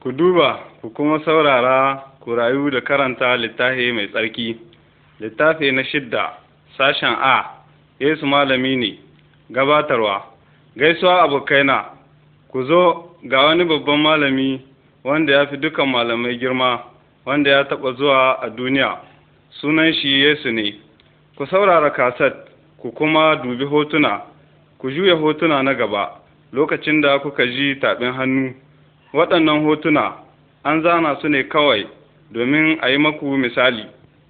Ku duba, ku kuma saurara, ku rayu da karanta littafi mai tsarki. Littafi na 6, sashen A, Yesu malami ne, gabatarwa. Gaisuwa abokaina, ku zo ga wani babban malami wanda ya fi dukan malamai girma, wanda ya taɓa zuwa a duniya. Sunan shi Yesu ne. Ku saurara kaset, ku kuma dubi hotuna, ku juya hotuna na gaba, lokacin da kuka ji taɓin hannu. Waɗannan hotuna an zana su ne kawai domin a yi maku misali.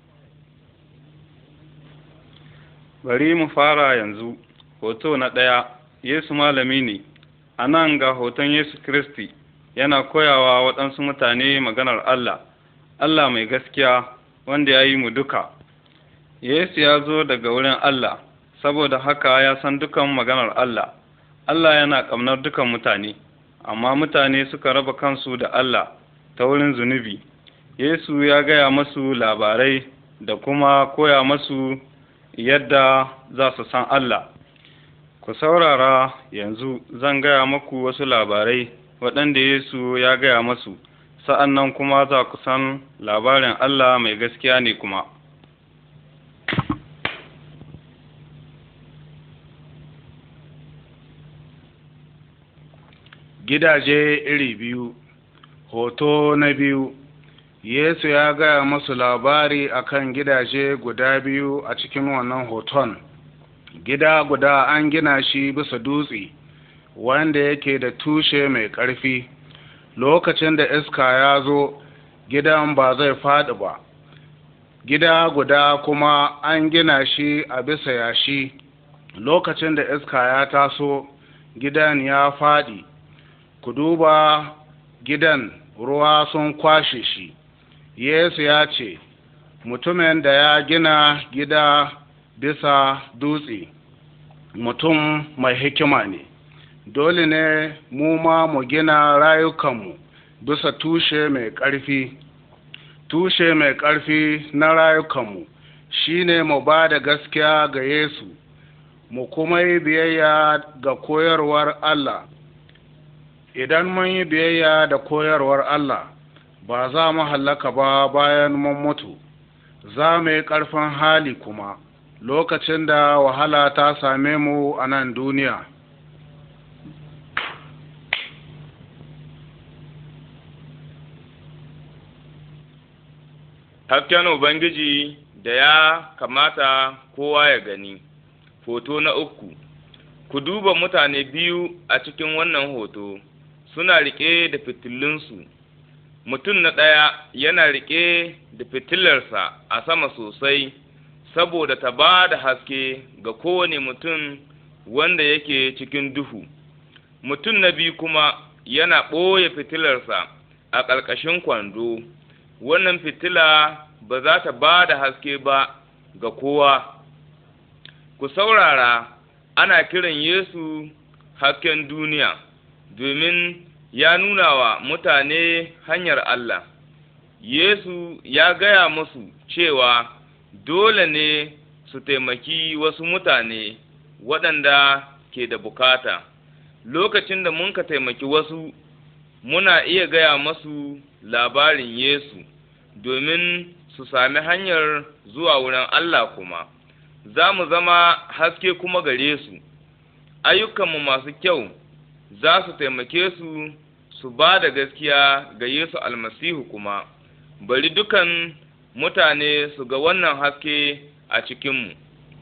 Bari mu fara yanzu. Hoto na 1, Yesu malami ne. A nan ga hoton Yesu Kiristi yana koyawa waɗansu mutane maganar Allah, Allah mai gaskiya wanda ya yi mu duka. Yesu ya zo daga wurin Allah, saboda haka ya san dukan maganar Allah. Allah yana ƙaunar dukan mutane, amma mutane suka raba kansu da Allah ta wurin zunubi. Yesu ya gaya masu labarai da kuma koya masu yadda za su san Allah. Ku saurara yanzu zan gaya maku wasu labarai waɗanda Yesu ya gaya masu, sa'an nan kuma za ku san labarin Allah mai gaskiya ne kuma. Gidaje iri biyu. Hoto na 2, Yesu ya gaya masu labari akan gidaje guda biyu a cikin wannan hoton. Gida guda an gina shi bisa dutse, wanda yake da tushe mai ƙarfi. Lokacin da iska ya zo, gidan ba zai faɗi ba. Gida guda kuma an gina shi a bisa yashi. Lokacin da iska ya taso, gidan ya faɗi. Ku duba gidan, ruwa sun kwashe shi. Yesu ya ce, mutumin da ya gina gida bisa dutse, mutum mai hikima ne. Dole ne mu ma mu gina rayukanmu bisa tushe mai ƙarfi. Tushe mai ƙarfi na rayukanmu shi ne mu ba da gaskiya ga Yesu, mu kuma yi biyayya ga koyarwar Allah. Idan mun yi biyayya da koyarwar Allah, ba za mu hallaka ba bayan mun mutu, za mu yi ƙarfin hali kuma lokacin da wahala ta same mu a nan duniya. Hasken Ubangiji da ya kamata kowa ya gani. Hoto na 3, ku duba mutane biyu a cikin wannan hoto. Suna riƙe da fitilunsu. Mutum na ɗaya yana riƙe da fitilarsa a sama sosai, saboda ta ba da haske ga kowane mutum wanda yake cikin duhu. Mutum na biyu kuma yana ɓoye fitilarsa a ƙarƙashin kwando. Wannan fitila ba za ta ba da haske ba ga kowa. Ku saurara, ana kiran Yesu hasken duniya, domin ya nuna wa mutane hanyar Allah. Yesu ya gaya musu cewa dole ne su taimaki wasu mutane waɗanda ke da bukata. Lokacin da mun ka taimaki wasu, muna iya gaya masu labarin Yesu, domin su sami hanyar zuwa wurin Allah kuma. Za mu zama haske kuma gare su. Ayyukanmu masu kyau za su taimake su su ba da gaskiya ga Yesu almasihu kuma. Bari dukan mutane su ga wannan haske a cikinmu.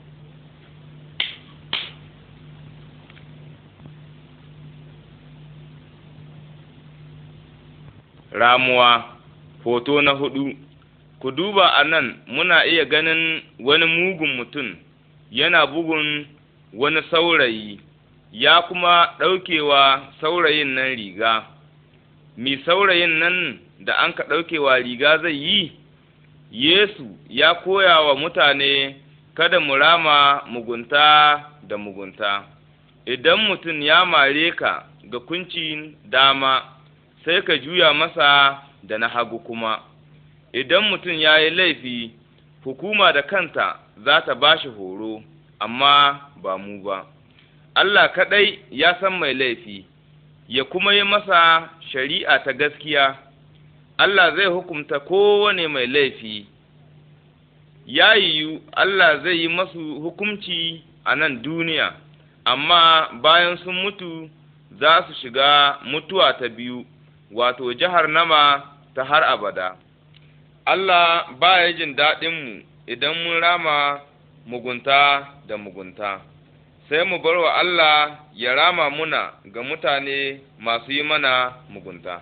Ramuwa. Hoto na 4, ku duba a nan muna iya ganin wani mugun mutum yana bugun wani saurayi, ya kuma ɗaukewa saurayin nan riga. Mi saurayin nan da an ka ɗaukewa riga zai yi? Yesu ya koya wa mutane kada mu rama mugunta da mugunta. Idan mutum ya mare ka ga kuncin dama, sai ka juya masa da na hagu kuma. Idan mutum ya yi laifi, hukuma da kanta za ta ba shi horo, amma ba mu ba. Allah kaɗai ya san mai laifi, ya kuma yi masa shari'a ta gaskiya. Allah zai hukumta kowane mai laifi. Ya yiwu Allah zai yi masu hukumci a nan duniya, amma bayan sun mutu za su shiga mutuwa ta biyu, wato jahannama ta har abada. Allah ba ya jin daɗinmu idan mun rama mugunta da mugunta, sai mu bar wa Allah ya rama muna ga mutane masu yi mana mugunta.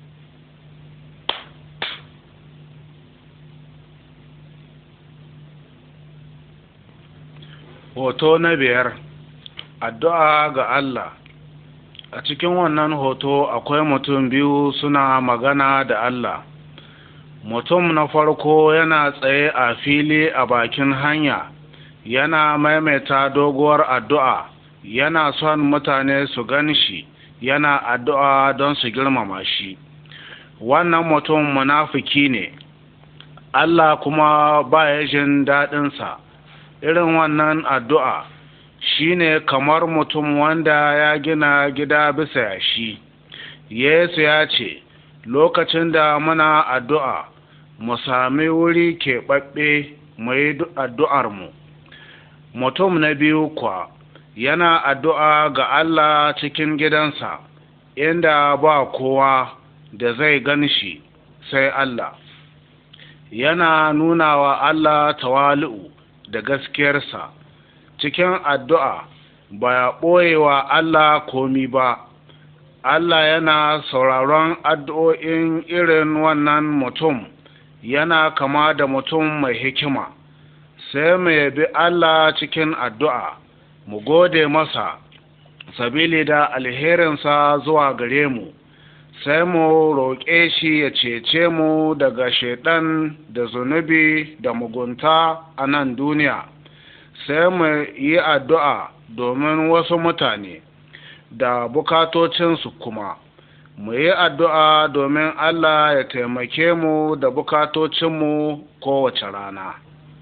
Hoto na 5, addu'a ga Allah. A cikin wannan hoto akwai mutum biyu suna magana da Allah. Mutum na farko yana tsaye a fili a bakin hanya, yana maimaita doguwar addu'a, yana son mutane su gan shi, yana addu'a don su girmama shi. Wannan mutum munafiki ne, Allah kuma ba ya jin daɗinsa. Irin wannan addu'a shi ne kamar mutum wanda ya gina gida bisa yashi. Yesu ya ce, lokacin da muna addu'a, mu sami wuri keɓaɓɓe mu yi addu'armu. Mutum na biyu kuwa yana addu'a ga Allah cikin gidansa, inda ba kowa da zai gan shi sai Allah. Yana nuna wa Allah tawali'u da gaskiyarsa. Cikin addu'a ba ya ɓoye wa Allah komi ba. Allah yana sauraron addu'o'in irin wannan mutum, yana kama da mutum mai hikima. Sai mu yabi Allah cikin addu'a, mu gode masa sabili da alherinsa zuwa gare mu, sai mu roƙe shi ya cece mu daga shaiɗan da zunubi da mugunta a nan duniya. Sai mu yi addu'a domin wasu mutane da bukatocinsu kuma. Mu yi addu'a domin Allah ya taimake mu da bukatocinmu kowace rana.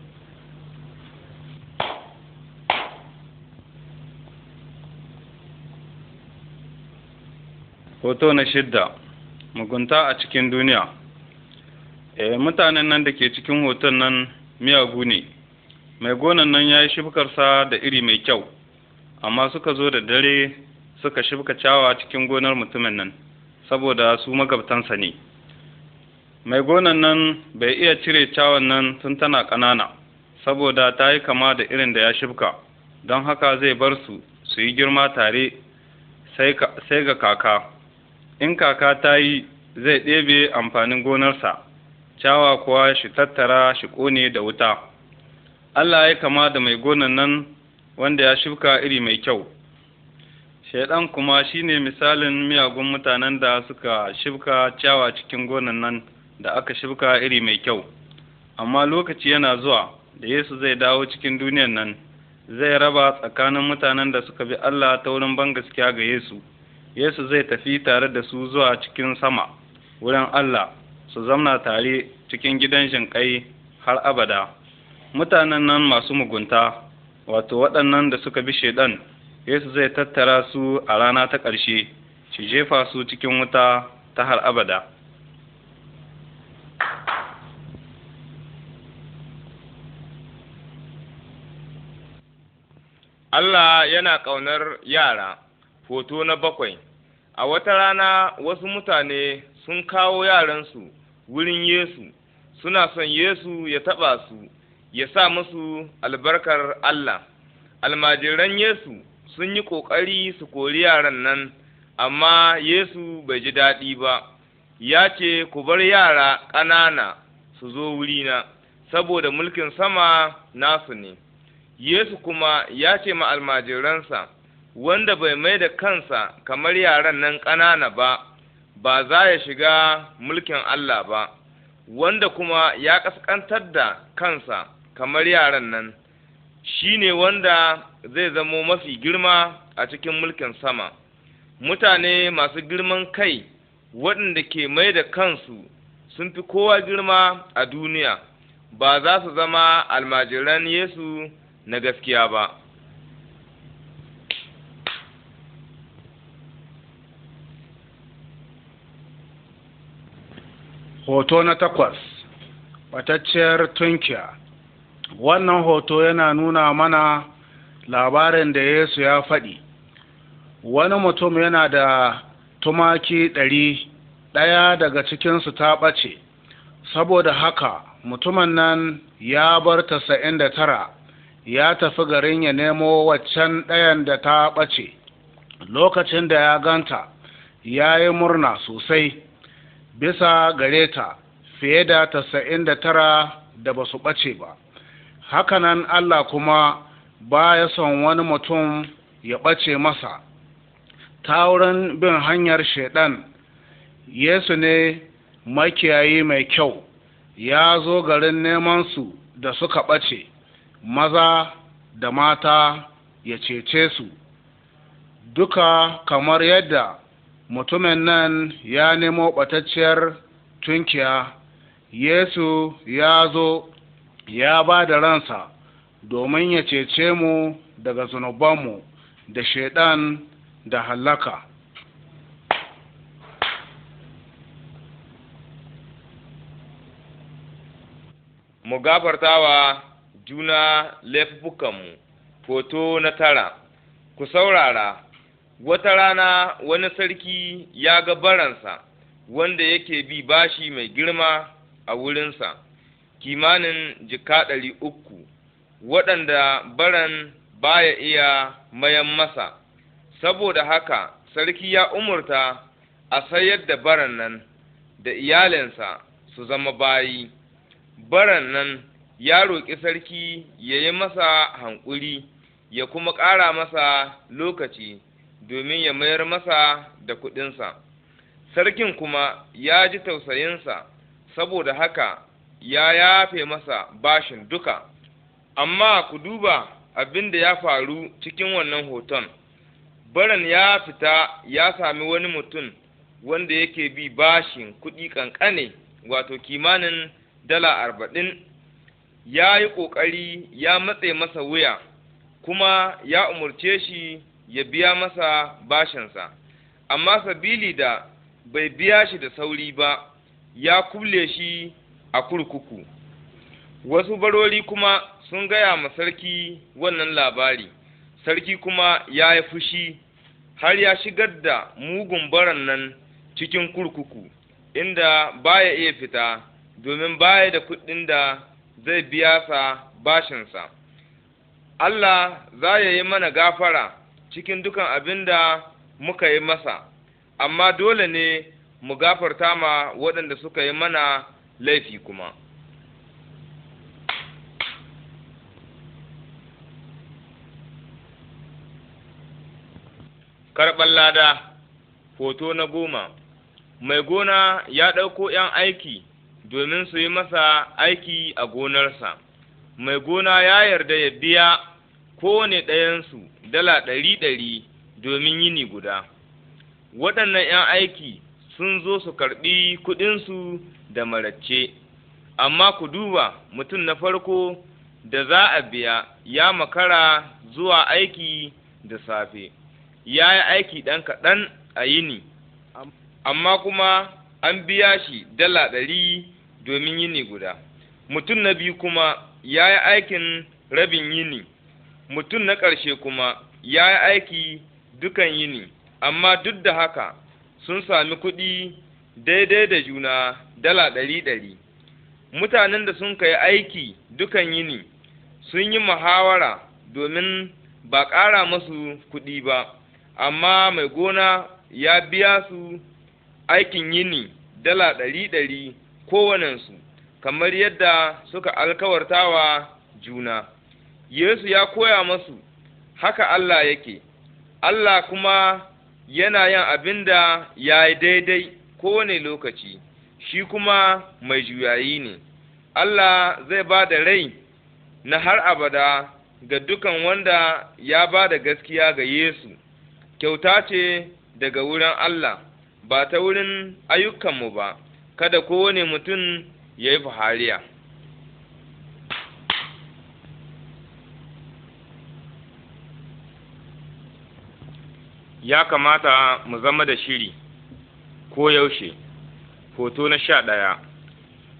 Hoto na 6, mugunta a cikin duniya. Mutanen nan da ke cikin hoton nan miyagu ne. Mai gonan nan ya yi shibkarsa da iri mai kyau, amma suka zo da dare suka shibka ciyawa cikin gonar mutumin nan, saboda su magabtansa ne. Mai gonan nan bai iya cire ciyawan nan tun tana ƙanana, saboda ta yi kama da irin da ya shibka, don haka zai bar su yi girma tare sai ga kaka. In kaka ta yi, zai ɗebe amfanin gonarsa, ciyawa kuwa shi tattara shi ƙone da wuta. Allah ya kama da mai gonan nan wanda ya shibka iri mai kyau. Shaiɗan kuma shine misalin miyagun mutanen da suka shibka ciyawa cikin gonan nan da aka shibka iri mai kyau. Amma lokaci yana zuwa da Yesu zai dawo cikin duniyan nan, zai raba tsakanin mutanen da suka bi Allah ta wurin bangaskiya ga Yesu. Yesu zai tafi tare da su zuwa cikin sama, wurin Allah, su zamna tare cikin gidan jinƙai har abada. Mutanen nan masu mugunta, wato waɗannan da suka bi Shaiɗan, Yesu zai tattara su a rana ta ƙarshe, shi jefa su cikin wuta ta har abada. Allah yana ƙaunar yara. Hoto na 7. A wata rana wasu mutane sun kawo yaransu wurin Yesu, suna son Yesu ya taɓa su, ya sa musu albarkar Allah. Almajiran Yesu sun yi ƙoƙari su kori yaran nan, amma Yesu bai ji daɗi ba. Ya ce, ku bar yara ƙanana su zo wurina, saboda mulkin sama nasu ne. Yesu kuma ya ce ma almajiransa, wanda bai mai da kansa kamar yaran nan ƙanana ba, ba za ya shiga mulkin Allah ba, wanda kuma ya ƙasƙantar da kansa kamar yaran nan, shi ne wanda zai zamo mafi girma a cikin mulkin sama. Mutane masu girman kai waɗanda ke mai da kansu sun fi kowa girma a duniya, ba za su zama almajiran Yesu na gaskiya ba. Hoto na 8, ɓatacciyar tunkiya. Wannan hoto yana nuna mana labarin da Yesu ya faɗi. Wani mutum yana da tumaki 100, ɗaya daga cikinsu ta ɓace, saboda haka mutumin nan ya bar 99 ya tafi garin ya nemo waccan ɗayan da ta ɓace. Lokacin da ya ganta, ya yi murna sosai bisa gare ta fiye da 99 da ba su ɓace ba. Hakanan Allah kuma ba ya son wani mutum ya ɓace masa ta wurin bin hanyar Shaiɗan. Yesu ne makiyayi mai kyau, ya zo garin neman su da suka ɓace, maza da mata, ya cece su duka, kamar yadda mutumin nan ya nemo ɓatacciyar tunkiya. Yesu ya zo ya ba da ransa domin ya cece mu daga zunubanmu da Shaiɗan da hallaka. Mu gafartawa juna laifukanmu. Hoto na 9. Ku saurara, wata rana wani sarki ya ga baransa wanda yake bi bashi mai girma a wurinsa, kimanin jika 300, waɗanda baran baya iya mayan masa. Saboda haka sarki ya umurta a sayar da baran nan da iyalinsa su zama bayi. Baran nan ya roƙi sarki ya yi masa hankuri, ya kuma ƙara masa lokaci domin ya mayar masa da kuɗinsa. Sarkin kuma ya ji tausayinsa, saboda haka ya yafe masa bashin duka. Amma ku duba abin da ya faru cikin wannan hoton. Baran ya fita ya sami wani mutum wanda yake bi bashin kuɗi ƙanƙane, wato kimanin $40. Ya yi ƙoƙari ya matse masa wuya, kuma ya umarce shi ya biya masa bashinsa, amma sabili da bai biya shi da sauri ba, ya kulle shi a kurkuku. Wasu barori kuma sun gaya ma sarki wannan labari. Sarki kuma ya yi fushi, har ya shigar da mugun baran nan cikin kurkuku, inda baya iya fita, domin baya da kuɗin da zai biya sa bashinsa. Allah za ya yi mana gafara cikin dukan abin da muka yi masa, amma dole ne mu gafarta ma waɗanda suka yi mana laifi kuma. Karɓar lada. Hoto na 10. Mai gona ya ɗauko ’yan aiki domin su yi masa aiki a gonarsa. Mai gona ya yarda ya biya kowane ɗayansu $100 domin yini guda. Waɗannan ’yan aiki sun zo su karɓi kuɗinsu da maracce, amma ku duba, mutum na farko da za a biya ya makara zuwa aiki da safe. Ya yi aiki ɗan kaɗan a yini, amma kuma an biya shi $100 domin yini guda. Mutum na biyu kuma ya yi aikin rabin yini. Mutum na ƙarshe kuma ya yi aiki dukan yini, amma duk da haka sun sami kuɗi daidai da juna $100. Mutanen da sun kai aiki dukan yini sun yi muhawara domin ba ƙara masu kuɗi ba, amma mai gona ya biya su aikin yini $100 kowanensu, kamar yadda suka alkawartawa juna. Yesu ya koya masu haka Allah yake. Allah kuma yana yin abin da ya yi daidai kowane lokaci, shi kuma mai juyayi ne. Allah zai ba da rai na har abada ga dukan wanda ya ba da gaskiya ga Yesu. Kyauta ce daga wurin Allah, ba ta wurin ayyukanmu ba. Kada kowane mutum ya yi fahariya. Ya kamata mu zama da shiri ko yaushe. Hoto na 11.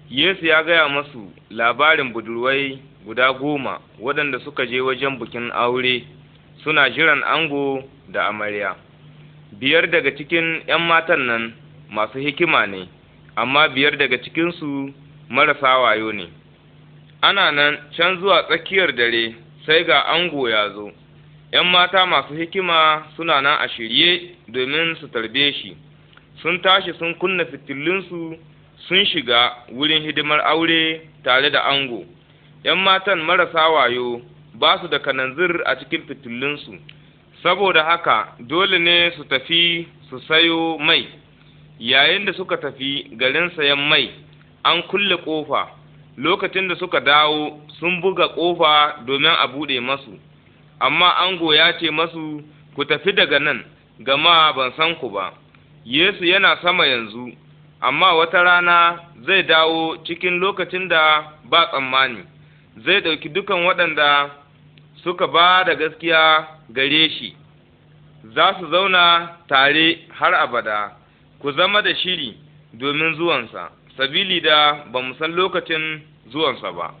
Yesu ya gaya masu labarin budurwai guda 10 waɗanda suka je wajen bikin aure suna jiran ango da amarya. 5 daga cikin ‘yan matan nan masu hikima ne, amma 5 daga cikinsu marasa wayo ne. Ana nan can zuwa tsakiyar dare sai ga ango ya zo. ‘Yan mata masu hikima suna nan a shirye domin su tarbe shi, sun tashi sun kunna fitilunsu sun shiga wurin hidimar aure tare da ango. ‘Yan matan marasa wayo ba su da kananzir a cikin fitilunsu, saboda haka dole ne su tafi su sayo mai. Yayin da suka tafi garin sayan mai, an kulle ƙofa. Lokacin da suka dawo sun buga ƙofa domin a buɗe masu, amma ango ya ce masu, ku tafi daga nan, gama ban san ku ba. Yesu yana sama yanzu, amma wata rana zai dawo cikin lokacin da ba tsammani. Zai ɗauki dukan waɗanda suka ba da gaskiya gare shi, za su zauna tare har abada. Ku zama da shiri domin zuwansa, sabili da ba mu san lokacin zuwansa ba.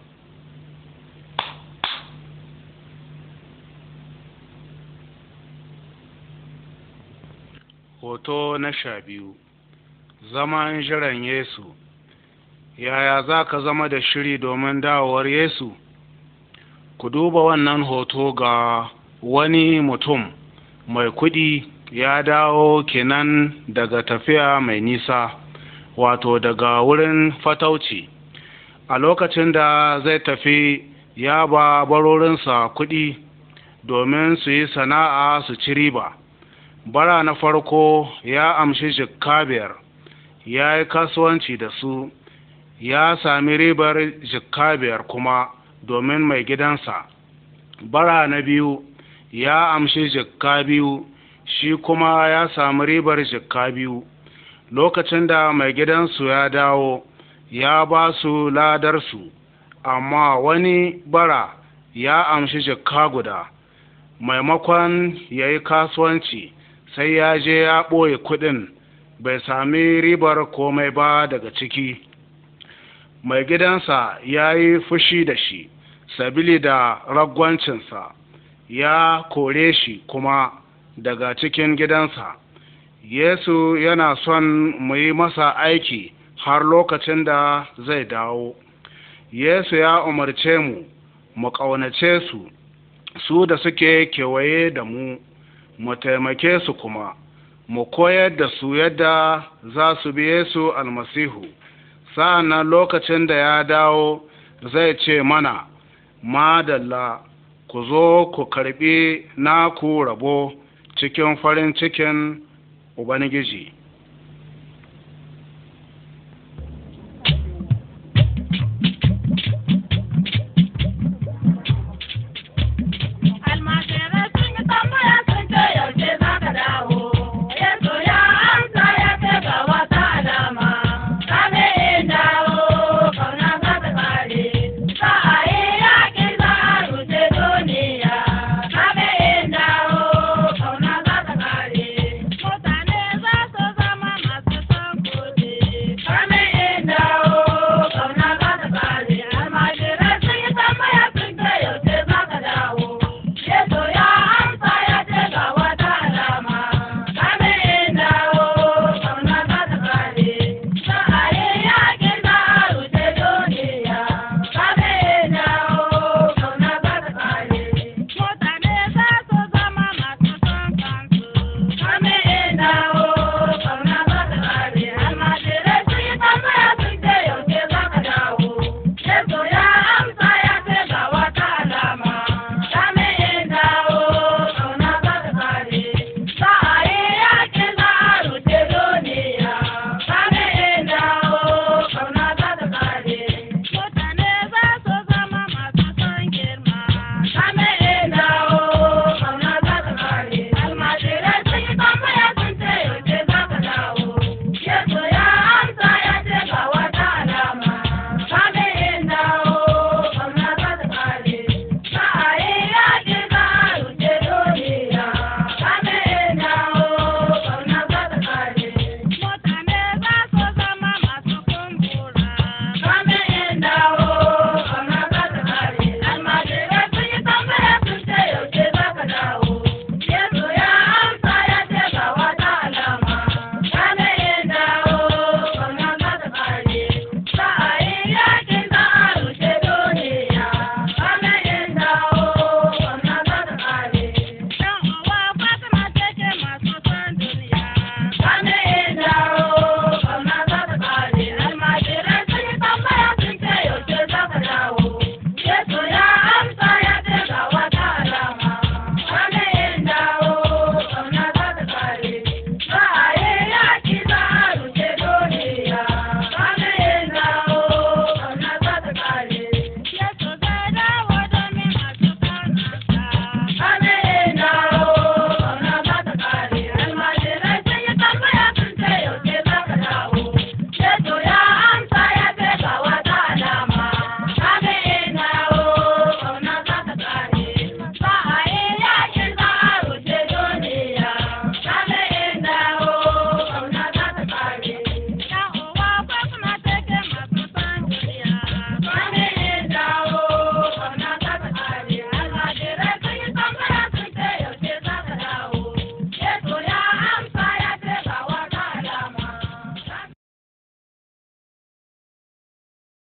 Hoto na 12. Zaman jiran Yesu. Yaya za ka zama da shiri domin dawowar Yesu? Ku duba wannan hoto ga wani mutum mai kuɗi ya dawo kenan daga tafiya mai nisa, wato daga wurin fatauci. A lokacin da zai tafi ya ba barorinsa kuɗi domin su yi sana'a su ci riba. Bara na farko ya amshi jikka 5, ya yi kasuwanci da su, ya sami ribar jikka 5 kuma domin mai gidansa. Bara na biyu ya amshi jikka 2, shi kuma ya sami ribar jikka 2. Lokacin da mai gidansu ya dawo, ya ba su ladarsu, amma wani bara ya amshi jikka 1. Maimakon ya yi kasuwanci, sai ya je ya ɓoye kuɗin, bai sami ribar komai ba daga ciki. Mai gidansa ya yi fushi da shi, sabili da ragwancinsa, ya kore shi kuma daga cikin gidansa. Yesu yana son mu yi masa aiki har lokacin da zai dawo. Yesu ya umarce mu ƙaunace su da suke kewaye da mu taimake su kuma, mu koyar da su yadda za su bi Yesu almasihu. Sa'an lokacin da ya dawo zai ce mana, madalla, ku zo ku karɓi naku rabo cikin farin cikin Ubangiji. Mutane za su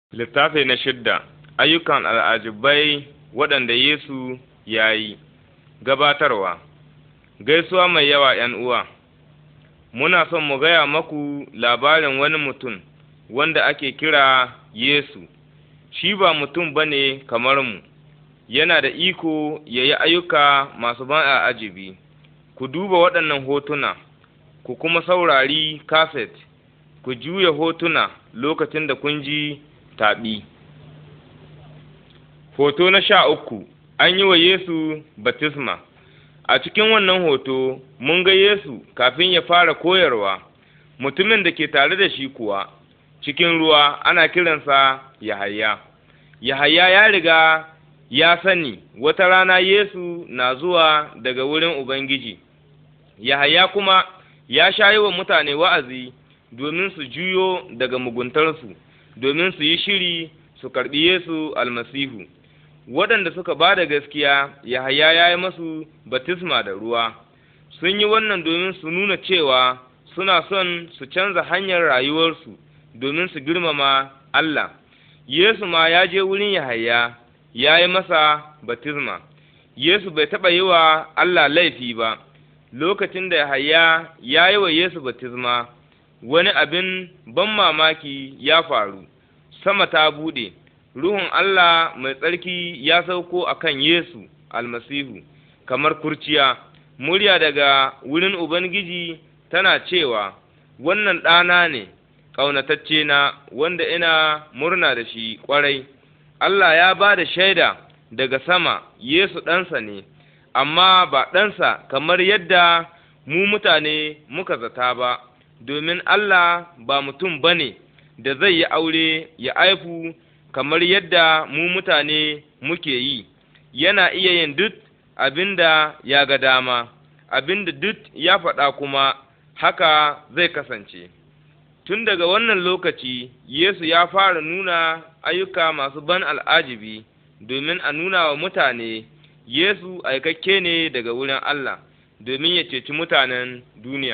Littafi na 6. Ayyukan al'ajibai waɗanda Yesu ya yi. Gabatarwa. Gaisuwa mai yawa ’yan uwa. Muna son mu gaya maku labarin wani mutum wanda ake kira Yesu. Shi ba mutum ba ne kamar mu, yana da iko ya yi ayyuka masu ban al'ajibi. Ku duba waɗannan hotuna, ku kuma saurari kaset, ku juya hotuna lokacin da kun ji taɓi. Hoto na 13, an yi wa Yesu baftisma. A cikin wannan hoto, mun ga Yesu kafin ya fara koyarwa, mutumin da ke tare da shi kuwa, cikin ruwa ana kiransa Yahaya. Yahaya ya riga ya sani wata rana Yesu na zuwa daga wurin Ubangiji. Yahaya kuma ya sha yi wa mutane wa'azi domin su juyo daga muguntarsu, domin su yi shiri su karɓi Yesu almasihu. Waɗanda suka ba da gaskiya, Yahaya ya yi masu baftisma da ruwa. Sun yi wannan domin su nuna cewa suna son su canza hanyar rayuwarsu domin su girmama Allah. Yesu ma ya je wurin Yahaya, ya yi masa baftisma. Yesu bai taɓa yi wa Allah laifi ba. Lokacin da Yahaya ya yi wa Yesu baftisma, wani abin ban mamaki ya faru. Sama ta buɗe, Ruhun Allah mai tsarki ya sauko a kan Yesu almasihu, kamar kurciya. Murya daga wurin Ubangiji tana cewa, Wannan ɗana ne, ƙaunatacce na, wanda ina murna da shi ƙwarai. Allah ya ba da shaida daga sama, Yesu ɗansa ne, amma ba ɗansa kamar yadda mu mutane muka zata ba, domin Allah ba mutum ba ne da zai yi aure ya aifu kamar yadda mu mutane muke yi. Yana iya yin duk abin da ya ga dama, abin da duk ya faɗa kuma haka zai kasance. Tun daga wannan lokaci, Yesu ya fara nuna ayyuka masu ban al'ajibi domin a nuna wa mutane Yesu aikakke ne daga wurin Allah domin ya ceci mutanen duniya.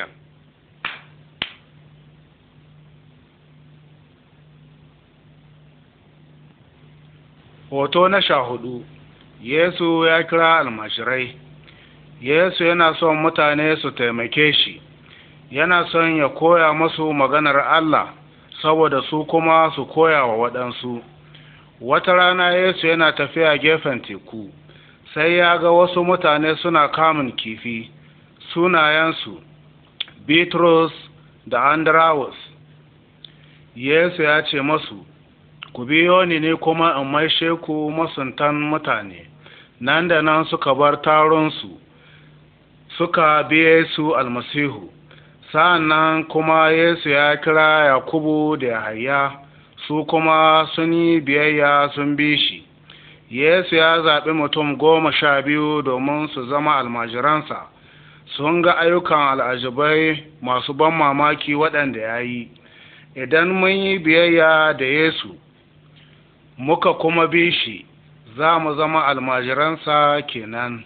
Hoto na 14, Yesu ya kira almashirai. Yesu yana son mutane su taimake shi, yana son ya koya masu maganar Allah, saboda su kuma su koya wa waɗansu. Wata rana Yesu yana tafiya gefen teku, sai ya ga wasu mutane suna kamun kifi, sunayensu Bitrus da Andrawus. Yesu ya ce masu, Ku biyo ni ne kuma in maishe ku masuntan mutane. Nan da nan suka bar taronsu, suka biye su almasihu. Sa'an nan kuma Yesu ya kira Yakubu da Yahaya, su kuma sun yi biyayya sun bi shi. Yesu ya zaɓi mutum 12 domin su zama almajiransa. Sun ga ayyukan al'ajibai masu ban mamaki waɗanda ya yi. Idan mun yi biyayya da Yesu, muka kuma bi shi, za mu zama almajiransa kenan.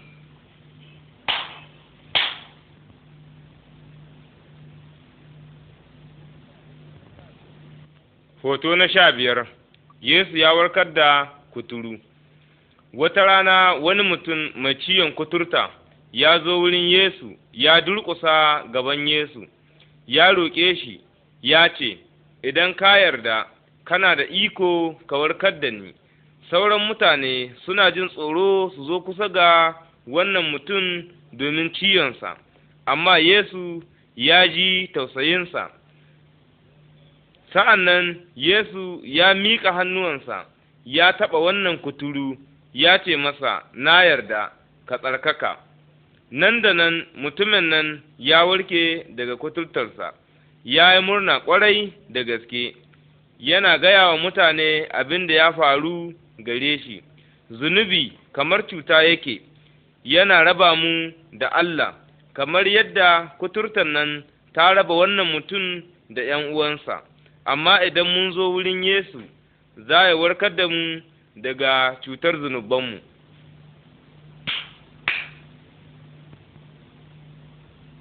Hoto na 15, Yesu ya warkar da kuturu. Wata rana wani mutum mai ciwon kuturta ya zo wurin Yesu, ya durƙusa gaban Yesu, ya roƙe shi, ya ce, Idan ka yarda, kana da iko ka warkar da ni. Sauran mutane suna jin tsoro su zo kusa ga wannan mutum domin ciwonsa, amma Yesu ya ji tausayinsa. Sa'an nan Yesu ya miƙa hannuwansa, ya taɓa wannan kuturu, ya ce masa, Na yarda, ka tsarkaka. Nan da nan mutumin nan ya warke daga kuturtarsa, ya yi murna ƙwarai da gaske, yana gaya wa mutane abin da ya faru gare shi. Zunubi kamar cuta yake, yana raba mu da Allah, kamar yadda kuturtar nan ta raba wannan mutum da ’yan uwansa. Amma idan mun zo wurin Yesu, za ya warkar da mu daga cutar zunubanmu.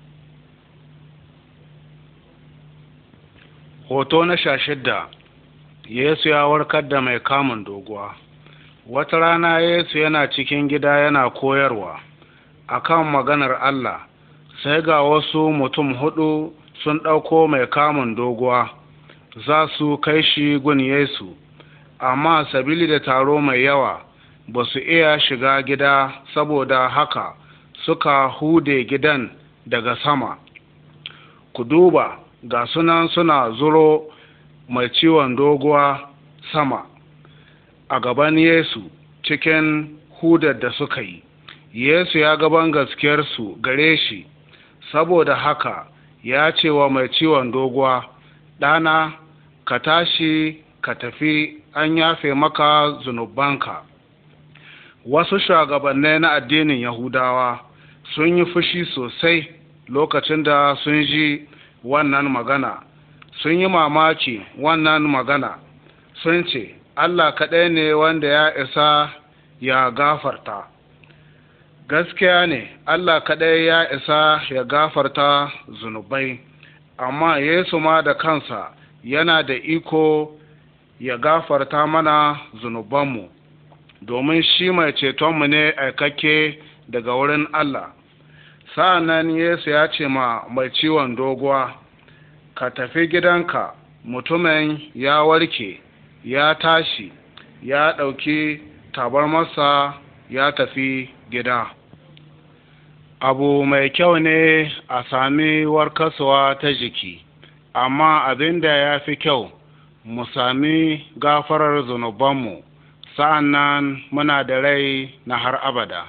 Hoto na 16, Yesu ya warkar da mai kamun doguwa. Wata rana Yesu yana cikin gida yana koyarwa akan maganar Allah, sai ga wasu mutum 4 sun ɗauko mai kamun doguwa za su kai shi gun Yesu, amma sabili da taro mai yawa ba su iya shiga gida, saboda haka suka hude gidan daga sama. Ku duba, ga sunan suna zuro mai ciwon doguwa sama a gaban Yesu cikin hudar da suka yi. Yesu ya gaban gaskiyarsu gare shi, saboda haka ya ce wa mai ciwon doguwa, ɗana, ka tashi ka tafi, an yafe maka zunubanka. Wasu shugabanni na addinin Yahudawa sun yi fushi sosai lokacin da sun ji wannan magana, sun yi mamaki wannan magana, sun ce, Allah kaɗai ne wanda ya isa ya gafarta. Gaskiya ne, Allah kaɗai ya isa ya gafarta zunubai, amma Yesu ma da kansa yana da iko ya gafarta mana zunubanmu, domin shi mai cetonmu ne aikakke daga wurin Allah. Sa'an Yesu ya ce ma mai ciwon doguwa, ka tafi gidanka. Mutumin ya warke, ya tashi, ya ɗauki tabarmarsa ya tafi gida. Abu mai kyau ne a sami warkaswa ta jiki, amma abin da ya fi kyau mu sami gafarar zunubanmu, sa'an nan muna da rai na har abada.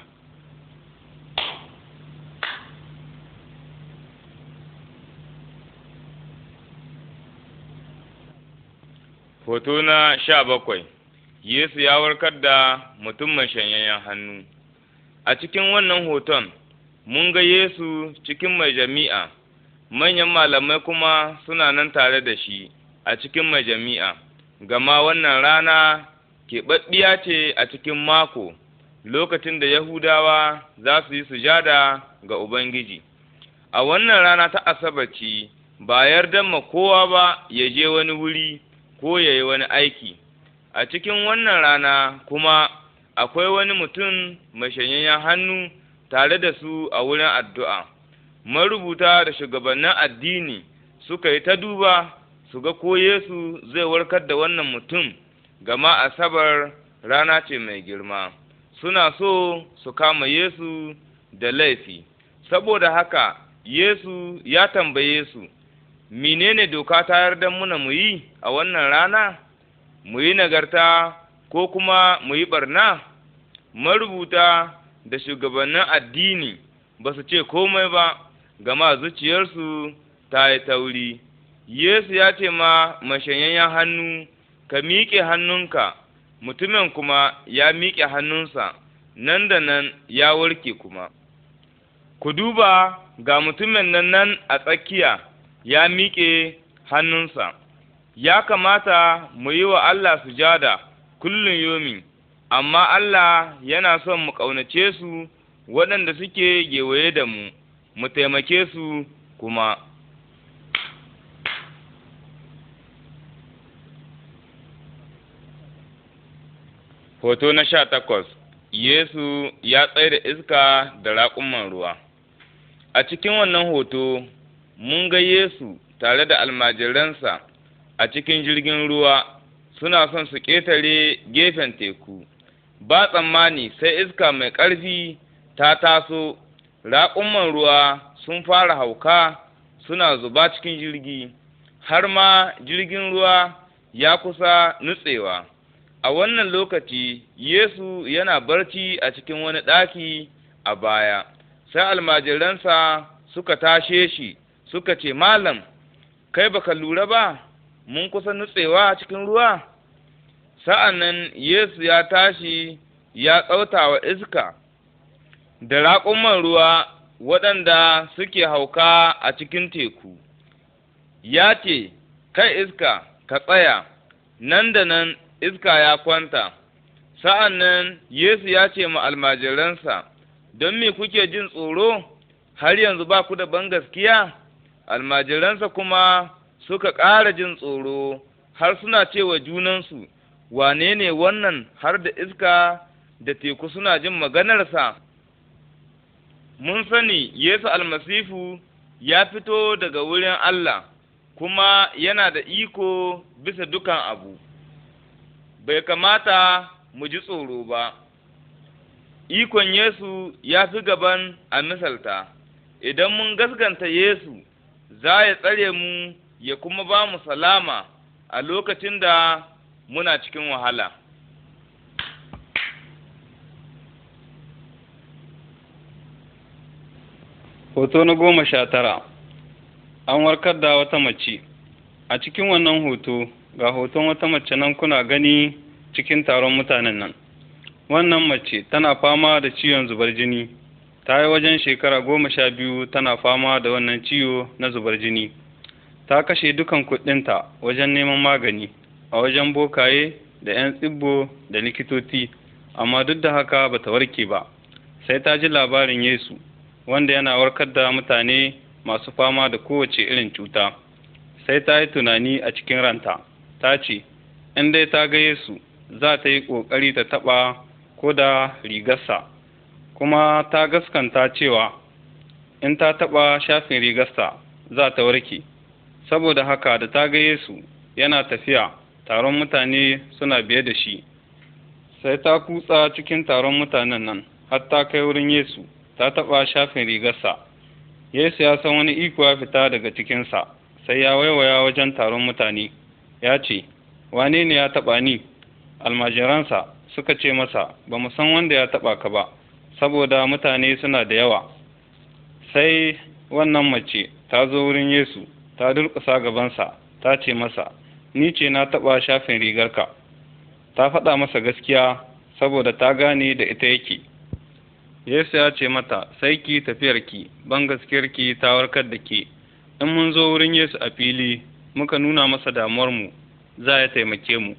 Hoto na 17. Yesu ya warkar da mutum mai shanyayyen hannu. A cikin wannan hoton, mun ga Yesu cikin mai jami'a, manyan malamai kuma suna nan tare da shi a cikin mai jami'a, gama wannan rana keɓaɓɓiya ce a cikin mako, lokacin da Yahudawa za su yi sujada ga Ubangiji. A wannan rana ta Asabaci, ba yarda ma kowa ba ya je wani wuri ko ya yi wani aiki. A cikin wannan rana kuma akwai wani mutum mai shanyayyen hannu tare da su a wurin addu'a. Marubuta da shugabannin addini suka yi ta duba su ga ko Yesu zai warkar da wannan mutum, gama Asabar rana ce mai girma. Suna so su kama Yesu da laifi. Saboda haka Yesu ya tambaye su, menene doka ta yarda muna mu yi a wannan rana? Mu yi nagarta ko kuma mu yi ɓarna? Marubuta da shugabannin addini ba su ce komai ba, gama zuciyarsu ta yi tauri. Yesu ya ce ma mashanyayyen hannu, ka miƙe hannunka, mutumin kuma ya miƙe hannunsa, nan da nan ya warke kuma. Ku duba, ga mutumin nan a tsakiya ya miƙe hannunsa. Ya kamata mu yi wa Allah sujada kullum yomi, amma Allah yana son mu ƙaunace su waɗanda suke gewaye da mu taimake su kuma. Hoto na 18. Yesu ya tsaye da iska da raƙuman ruwa. A cikin wannan hoto, mun ga Yesu tare da almajiransa a cikin jirgin ruwa, suna son su ƙetare gefen teku. Ba tsammani sai iska mai ƙarfi ta taso, raƙuman ruwa sun fara hauka suna zuba cikin jirgi, har ma jirgin ruwa ya kusa nutsewa. A wannan lokaci, Yesu yana barci a cikin wani ɗaki a baya, sai almajiransa suka tashe shi, suka ce, Malam, kai baka lura ba, mun kusa nutsewa cikin ruwa? Sa'an nan Yesu ya tashi ya tsauta wa iska da raƙuman ruwa waɗanda suke hauka a cikin teku. Ya ce, kai iska, ka tsaya, nan da nan iska ya kwanta. Sa'an nan Yesu ya ce ma almajiransa, don me kuke jin tsoro, har yanzu ba ku da bangaskiya? Almajiransa kuma suka ƙara jin tsoro har suna cewa junansu, wane ne wannan har da iska da teku suna jin maganarsa? Mun sani Yesu almasihu ya fito daga wurin Allah, kuma yana da iko bisa dukan abu. Bai kamata mu ji tsoro ba. Ikon Yesu ya fi gaban a misalta. Idan mun gaskanta Yesu, za ya tsare mu ya kuma ba mu salama a lokacin da muna cikin wahala. Hoto na 19, an warkar da wata mace. A cikin wannan hoto, ga hoton wata mace nan kuna gani cikin taron mutanen nan. Wannan mace tana fama da ciwon zubar jini. Ta yi wajen shekara 12 tana fama da wannan ciwo na zubar jini. Ta kashe dukan kuɗinta wajen neman magani a wajen bokaye da 'yan tsibbo da likitoci, amma duk da haka ba ta warke ba. Sai ta ji labarin Yesu, wanda yana warkar da mutane masu fama da kowace irin cuta. Sai ta yi tunani a cikin ranta, ta ce, in dai ta ga Yesu, za ta yi ƙoƙari ta taɓa ko da rigarsa, kuma ta gaskanta cewa in ta taɓa shafin rigarsa za ta warke. Saboda haka da ta ga Yesu yana tafiya, taron mutane suna biye da shi. Sai ta kutsa cikin taron mutanen nan, har ta kai wurin Yesu, ta taɓa shafin rigarsa. Yesu ya san wani iko ya fita daga cikinsa, sai ya waiwaya wajen taron mutane, ya ce, wane ne ya taɓa ni? Almajiransa suka ce masa, ba mu san wanda ya taɓa ka ba, saboda mutane suna da yawa. Sai wannan mace ta zo wurin Yesu, ta durƙusa gabansa, ta ce masa, ni ce na taɓa shafin rigarka. Ta faɗa masa gaskiya, saboda ta gane da ita yake. Yesu ya ce mata, sai ki tafiyarki, ban gaskiyarki ta warkar da ke. In mun zo wurin Yesu a fili, muka nuna masa damuwarmu, za ya taimake mu.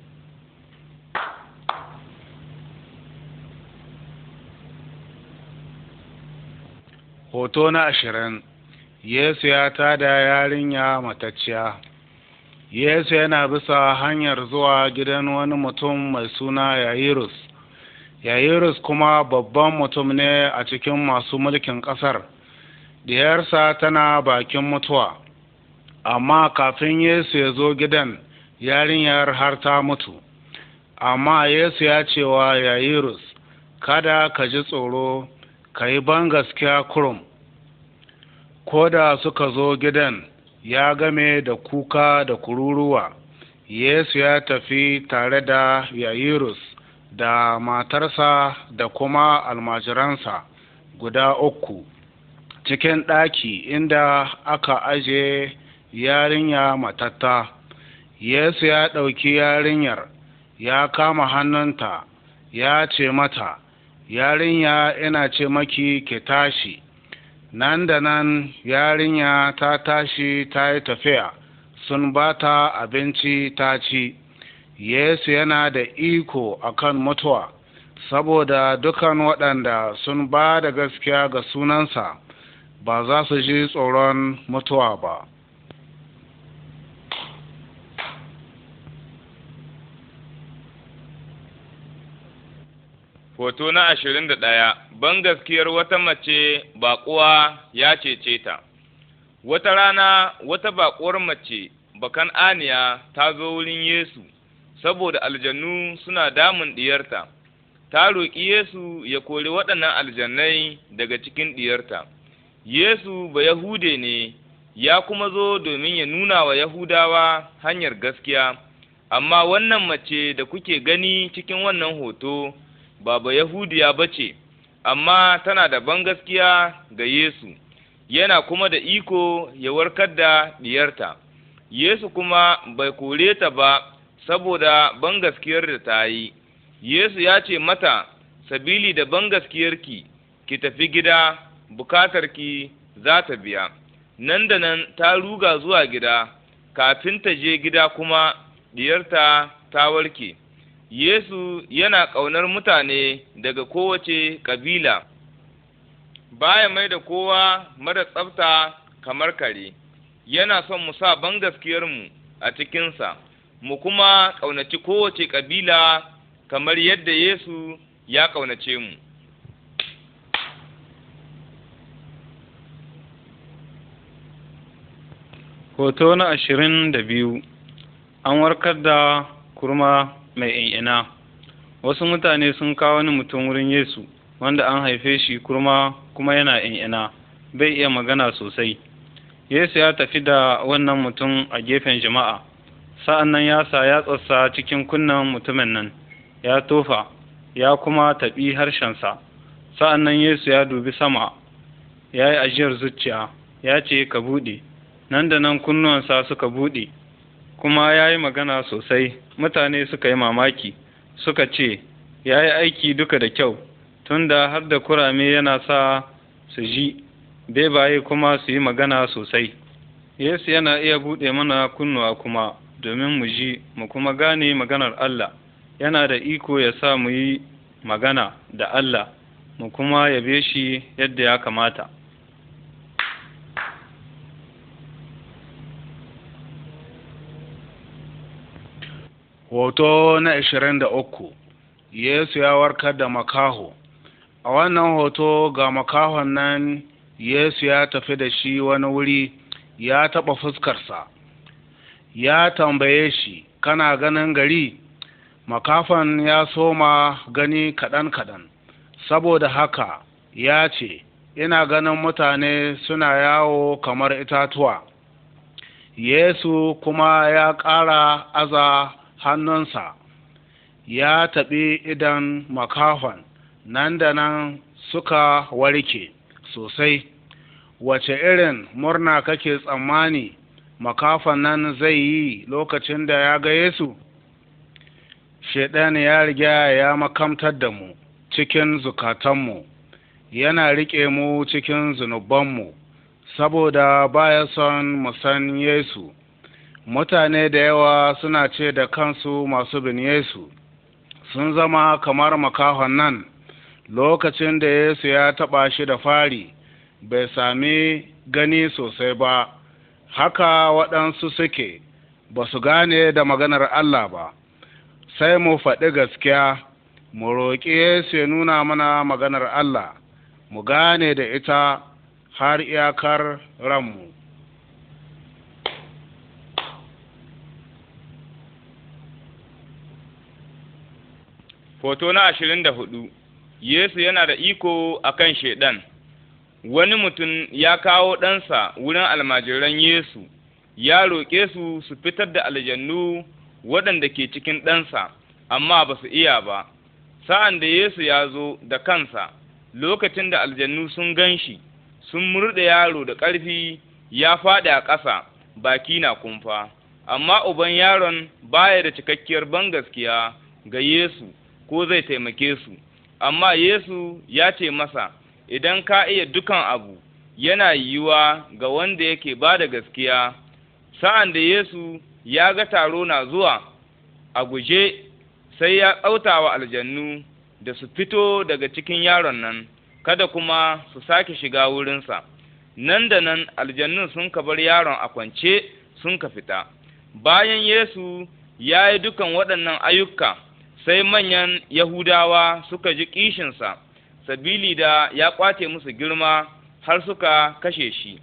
Hoto na 20, Yesu ya tada yarinya matacciya. Yesu yana bisa hanyar zuwa gidan wani mutum mai suna Yayirus. Yayirus kuma babban mutum ne a cikin masu mulkin ƙasar. Diyarsa tana bakin mutuwa, amma kafin Yesu ya zo gidan, yarinyar har ta mutu. Amma Yesu ya ce wa Yayirus, kada ka ji tsoro, ka yi bangaskiya kurum. Ko da suka zo gidan, ya game da kuka da kururuwa. Yesu ya tafi tare da Yayirus da matarsa da kuma almajiransa guda 3 cikin ɗaki inda aka aje yarinya matatta. Yesu ya ɗauki yarinyar, ya kama hannunta, ya ce mata, yarinya, ina ce maki ki tashi. Nan da nan yarinya ta tashi ta yi tafiya, sun ba ta abinci ta ci. Yesu yana da iko akan mutuwa, saboda dukan waɗanda sun ba da gaskiya ga sunansa ba za su ji tsoron mutuwa ba. Hoto na 21, bangaskiyar wata mace baƙuwa ya cece ta. Wata rana wata baƙuwar mace Bakan'aniya ta zo wurin Yesu, saboda aljannu suna damun diyarta. Ta roƙi Yesu ya kori waɗannan aljannai daga cikin diyarta. Yesu Bayahude ne, ya kuma zo domin ya nuna wa Yahudawa hanyar gaskiya, amma wannan mace da kuke gani cikin wannan hoto ba Bayahudiya ba ce, amma tana da bangaskiya ga Yesu, yana kuma da iko ya warkar da diyarta. Yesu kuma bai kore ta ba saboda bangaskiyar da ta yi. Yesu ya ce mata, sabili da bangaskiyarki, ki tafi gida, bukatarki za ta biya. Nan da nan ta ruga zuwa gida, kafin ta je gida kuma diyarta ta warke. Yesu yana ƙaunar mutane daga kowace ƙabila, baya mai da kowa mara tsafta kamar kare. Yana son mu sa bangaskiyarmu a cikinsa, mu kuma ƙaunaci kowace ƙabila kamar yadda Yesu ya ƙaunace mu. Hoto na 22. An warkar da kurma mai in'ina. Wasu mutane sun kawo wani mutum wurin Yesu wanda an haife shi kurma kuma yana in'ina, bai iya magana sosai. Yesu ya tafi da wannan mutum a gefen jama'a, sa'an nan ya sa yatsarsa cikin kunnen mutumin nan, ya tofa, ya kuma taɓi harshensa. Sa'an nan Yesu ya dubi sama, ya yi ajiyar zuciya, ya ce, "Ka buɗe." Nan da nan kunnuwansa suka buɗe, kuma ya yi magana sosai. Mutane suka yi mamaki, suka ce, "Ya yi aiki duka da kyau, tunda har da kurame yana sa su ji, bebaye kuma su yi magana sosai." Yesu yana iya buɗe mana kunnuwa kuma domin mu ji, mu kuma gane maganar Allah. Yana da iko ya sa mu yi magana da Allah, mu kuma yabe shi yadda ya kamata. Hoto na 23. Yesu ya warkar da makaho. A wannan hoto ga makahon nan Yesu ya tafi da shi wani wuri, ya taɓa fuskarsa, ya tambaye shi, "Kana ganin gari?" Makafan ya soma gani kaɗan-kaɗan, saboda haka ya ce, "Ina ganin mutane suna yawo kamar itatuwa." Yesu kuma ya ƙara aza hannunsa, ya taɓi idan makafan, nan da nan suka warke sosai. Wace irin murna kake tsammani makafan nan zai yi lokacin da ya ga Yesu? Shaiɗan ya riga ya makamtar da mu cikin zukatanmu, yana riƙe mu cikin zunubanmu, saboda baya son mu san Yesu. Mutane da yawa suna ce da kansu masu bin Yesu, sun zama kamar makahon nan. Lokacin da Yesu ya taɓa shi da fari, bai sami gani sosai ba. Haka waɗansu suke, ba su gane da maganar Allah ba. Sai mu faɗi gaskiya, mu roƙi Yesu ya nuna mana maganar Allah, mu gane da ita har iyakar ranmu. Hoto na 24. Yesu yana da iko akan Shaiɗan. Wani mutum ya kawo ɗansa wurin almajiran Yesu, ya roƙe su su fitar da aljannu waɗanda ke cikin ɗansa, amma ba su iya ba. Sa'an da Yesu ya zo da kansa, lokacin da aljannu sun gan shi, sun murɗe yaro da ƙarfi, ya faɗi a ƙasa, baki na kumfa. Amma uban yaron baya da cikakkiyar bangaskiya ga Yesu, ko zai taimake su. Amma Yesu ya ce masa, "Idan ka iya dukan abu, yana yiwuwa ga wanda yake ba da gaskiya." Sa'an da Yesu ya ga taro na zuwa a guje, sai ya tsauta wa aljannu da su fito daga cikin yaron nan, kada kuma su sake shiga wurinsa. Nan da nan aljannun sun ka bar yaron a kwance, sun ka fita. Bayan Yesu ya yi dukan waɗannan ayyuka, sai manyan Yahudawa suka ji ƙishinsa, sabili da ya ƙwace musu girma har suka kashe shi.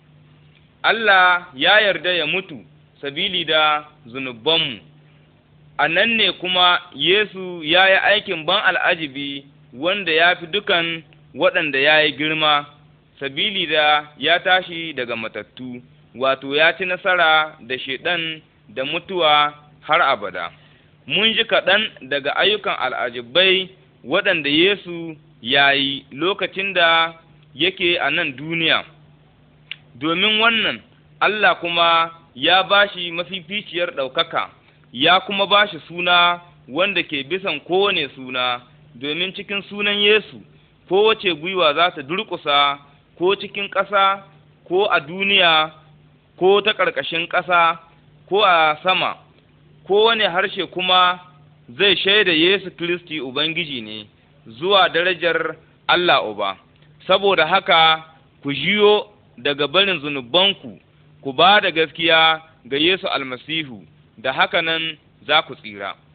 Allah ya yarda ya mutu sabili da zunubanmu. A nan ne kuma Yesu ya yi aikin ban al'ajibi wanda ya fi dukan waɗanda ya yi girma, sabili da ya tashi daga matattu, wato ya ci nasara da Shaiɗan da mutuwa har abada. Mun ji kaɗan daga ayyukan al'ajibai waɗanda Yesu ya yi lokacin da yake a nan duniya. Domin wannan, Allah kuma ya ba shi mafificiyar ɗaukaka, ya kuma ba shi suna wanda ke bisan kowane suna, domin cikin sunan Yesu, kowace gwiwa za ta durƙusa, ko cikin ƙasa, ko a duniya, ko ta ƙarƙashin ƙasa, ko a sama, kowane harshe kuma zai shaida Yesu Kiristi Ubangiji ne, zuwa darajar Allah Uba. Saboda haka, ku jiyo daga barin zunubanku, ku ba da gaskiya ga Yesu Almasihu, da haka nan za ku tsira.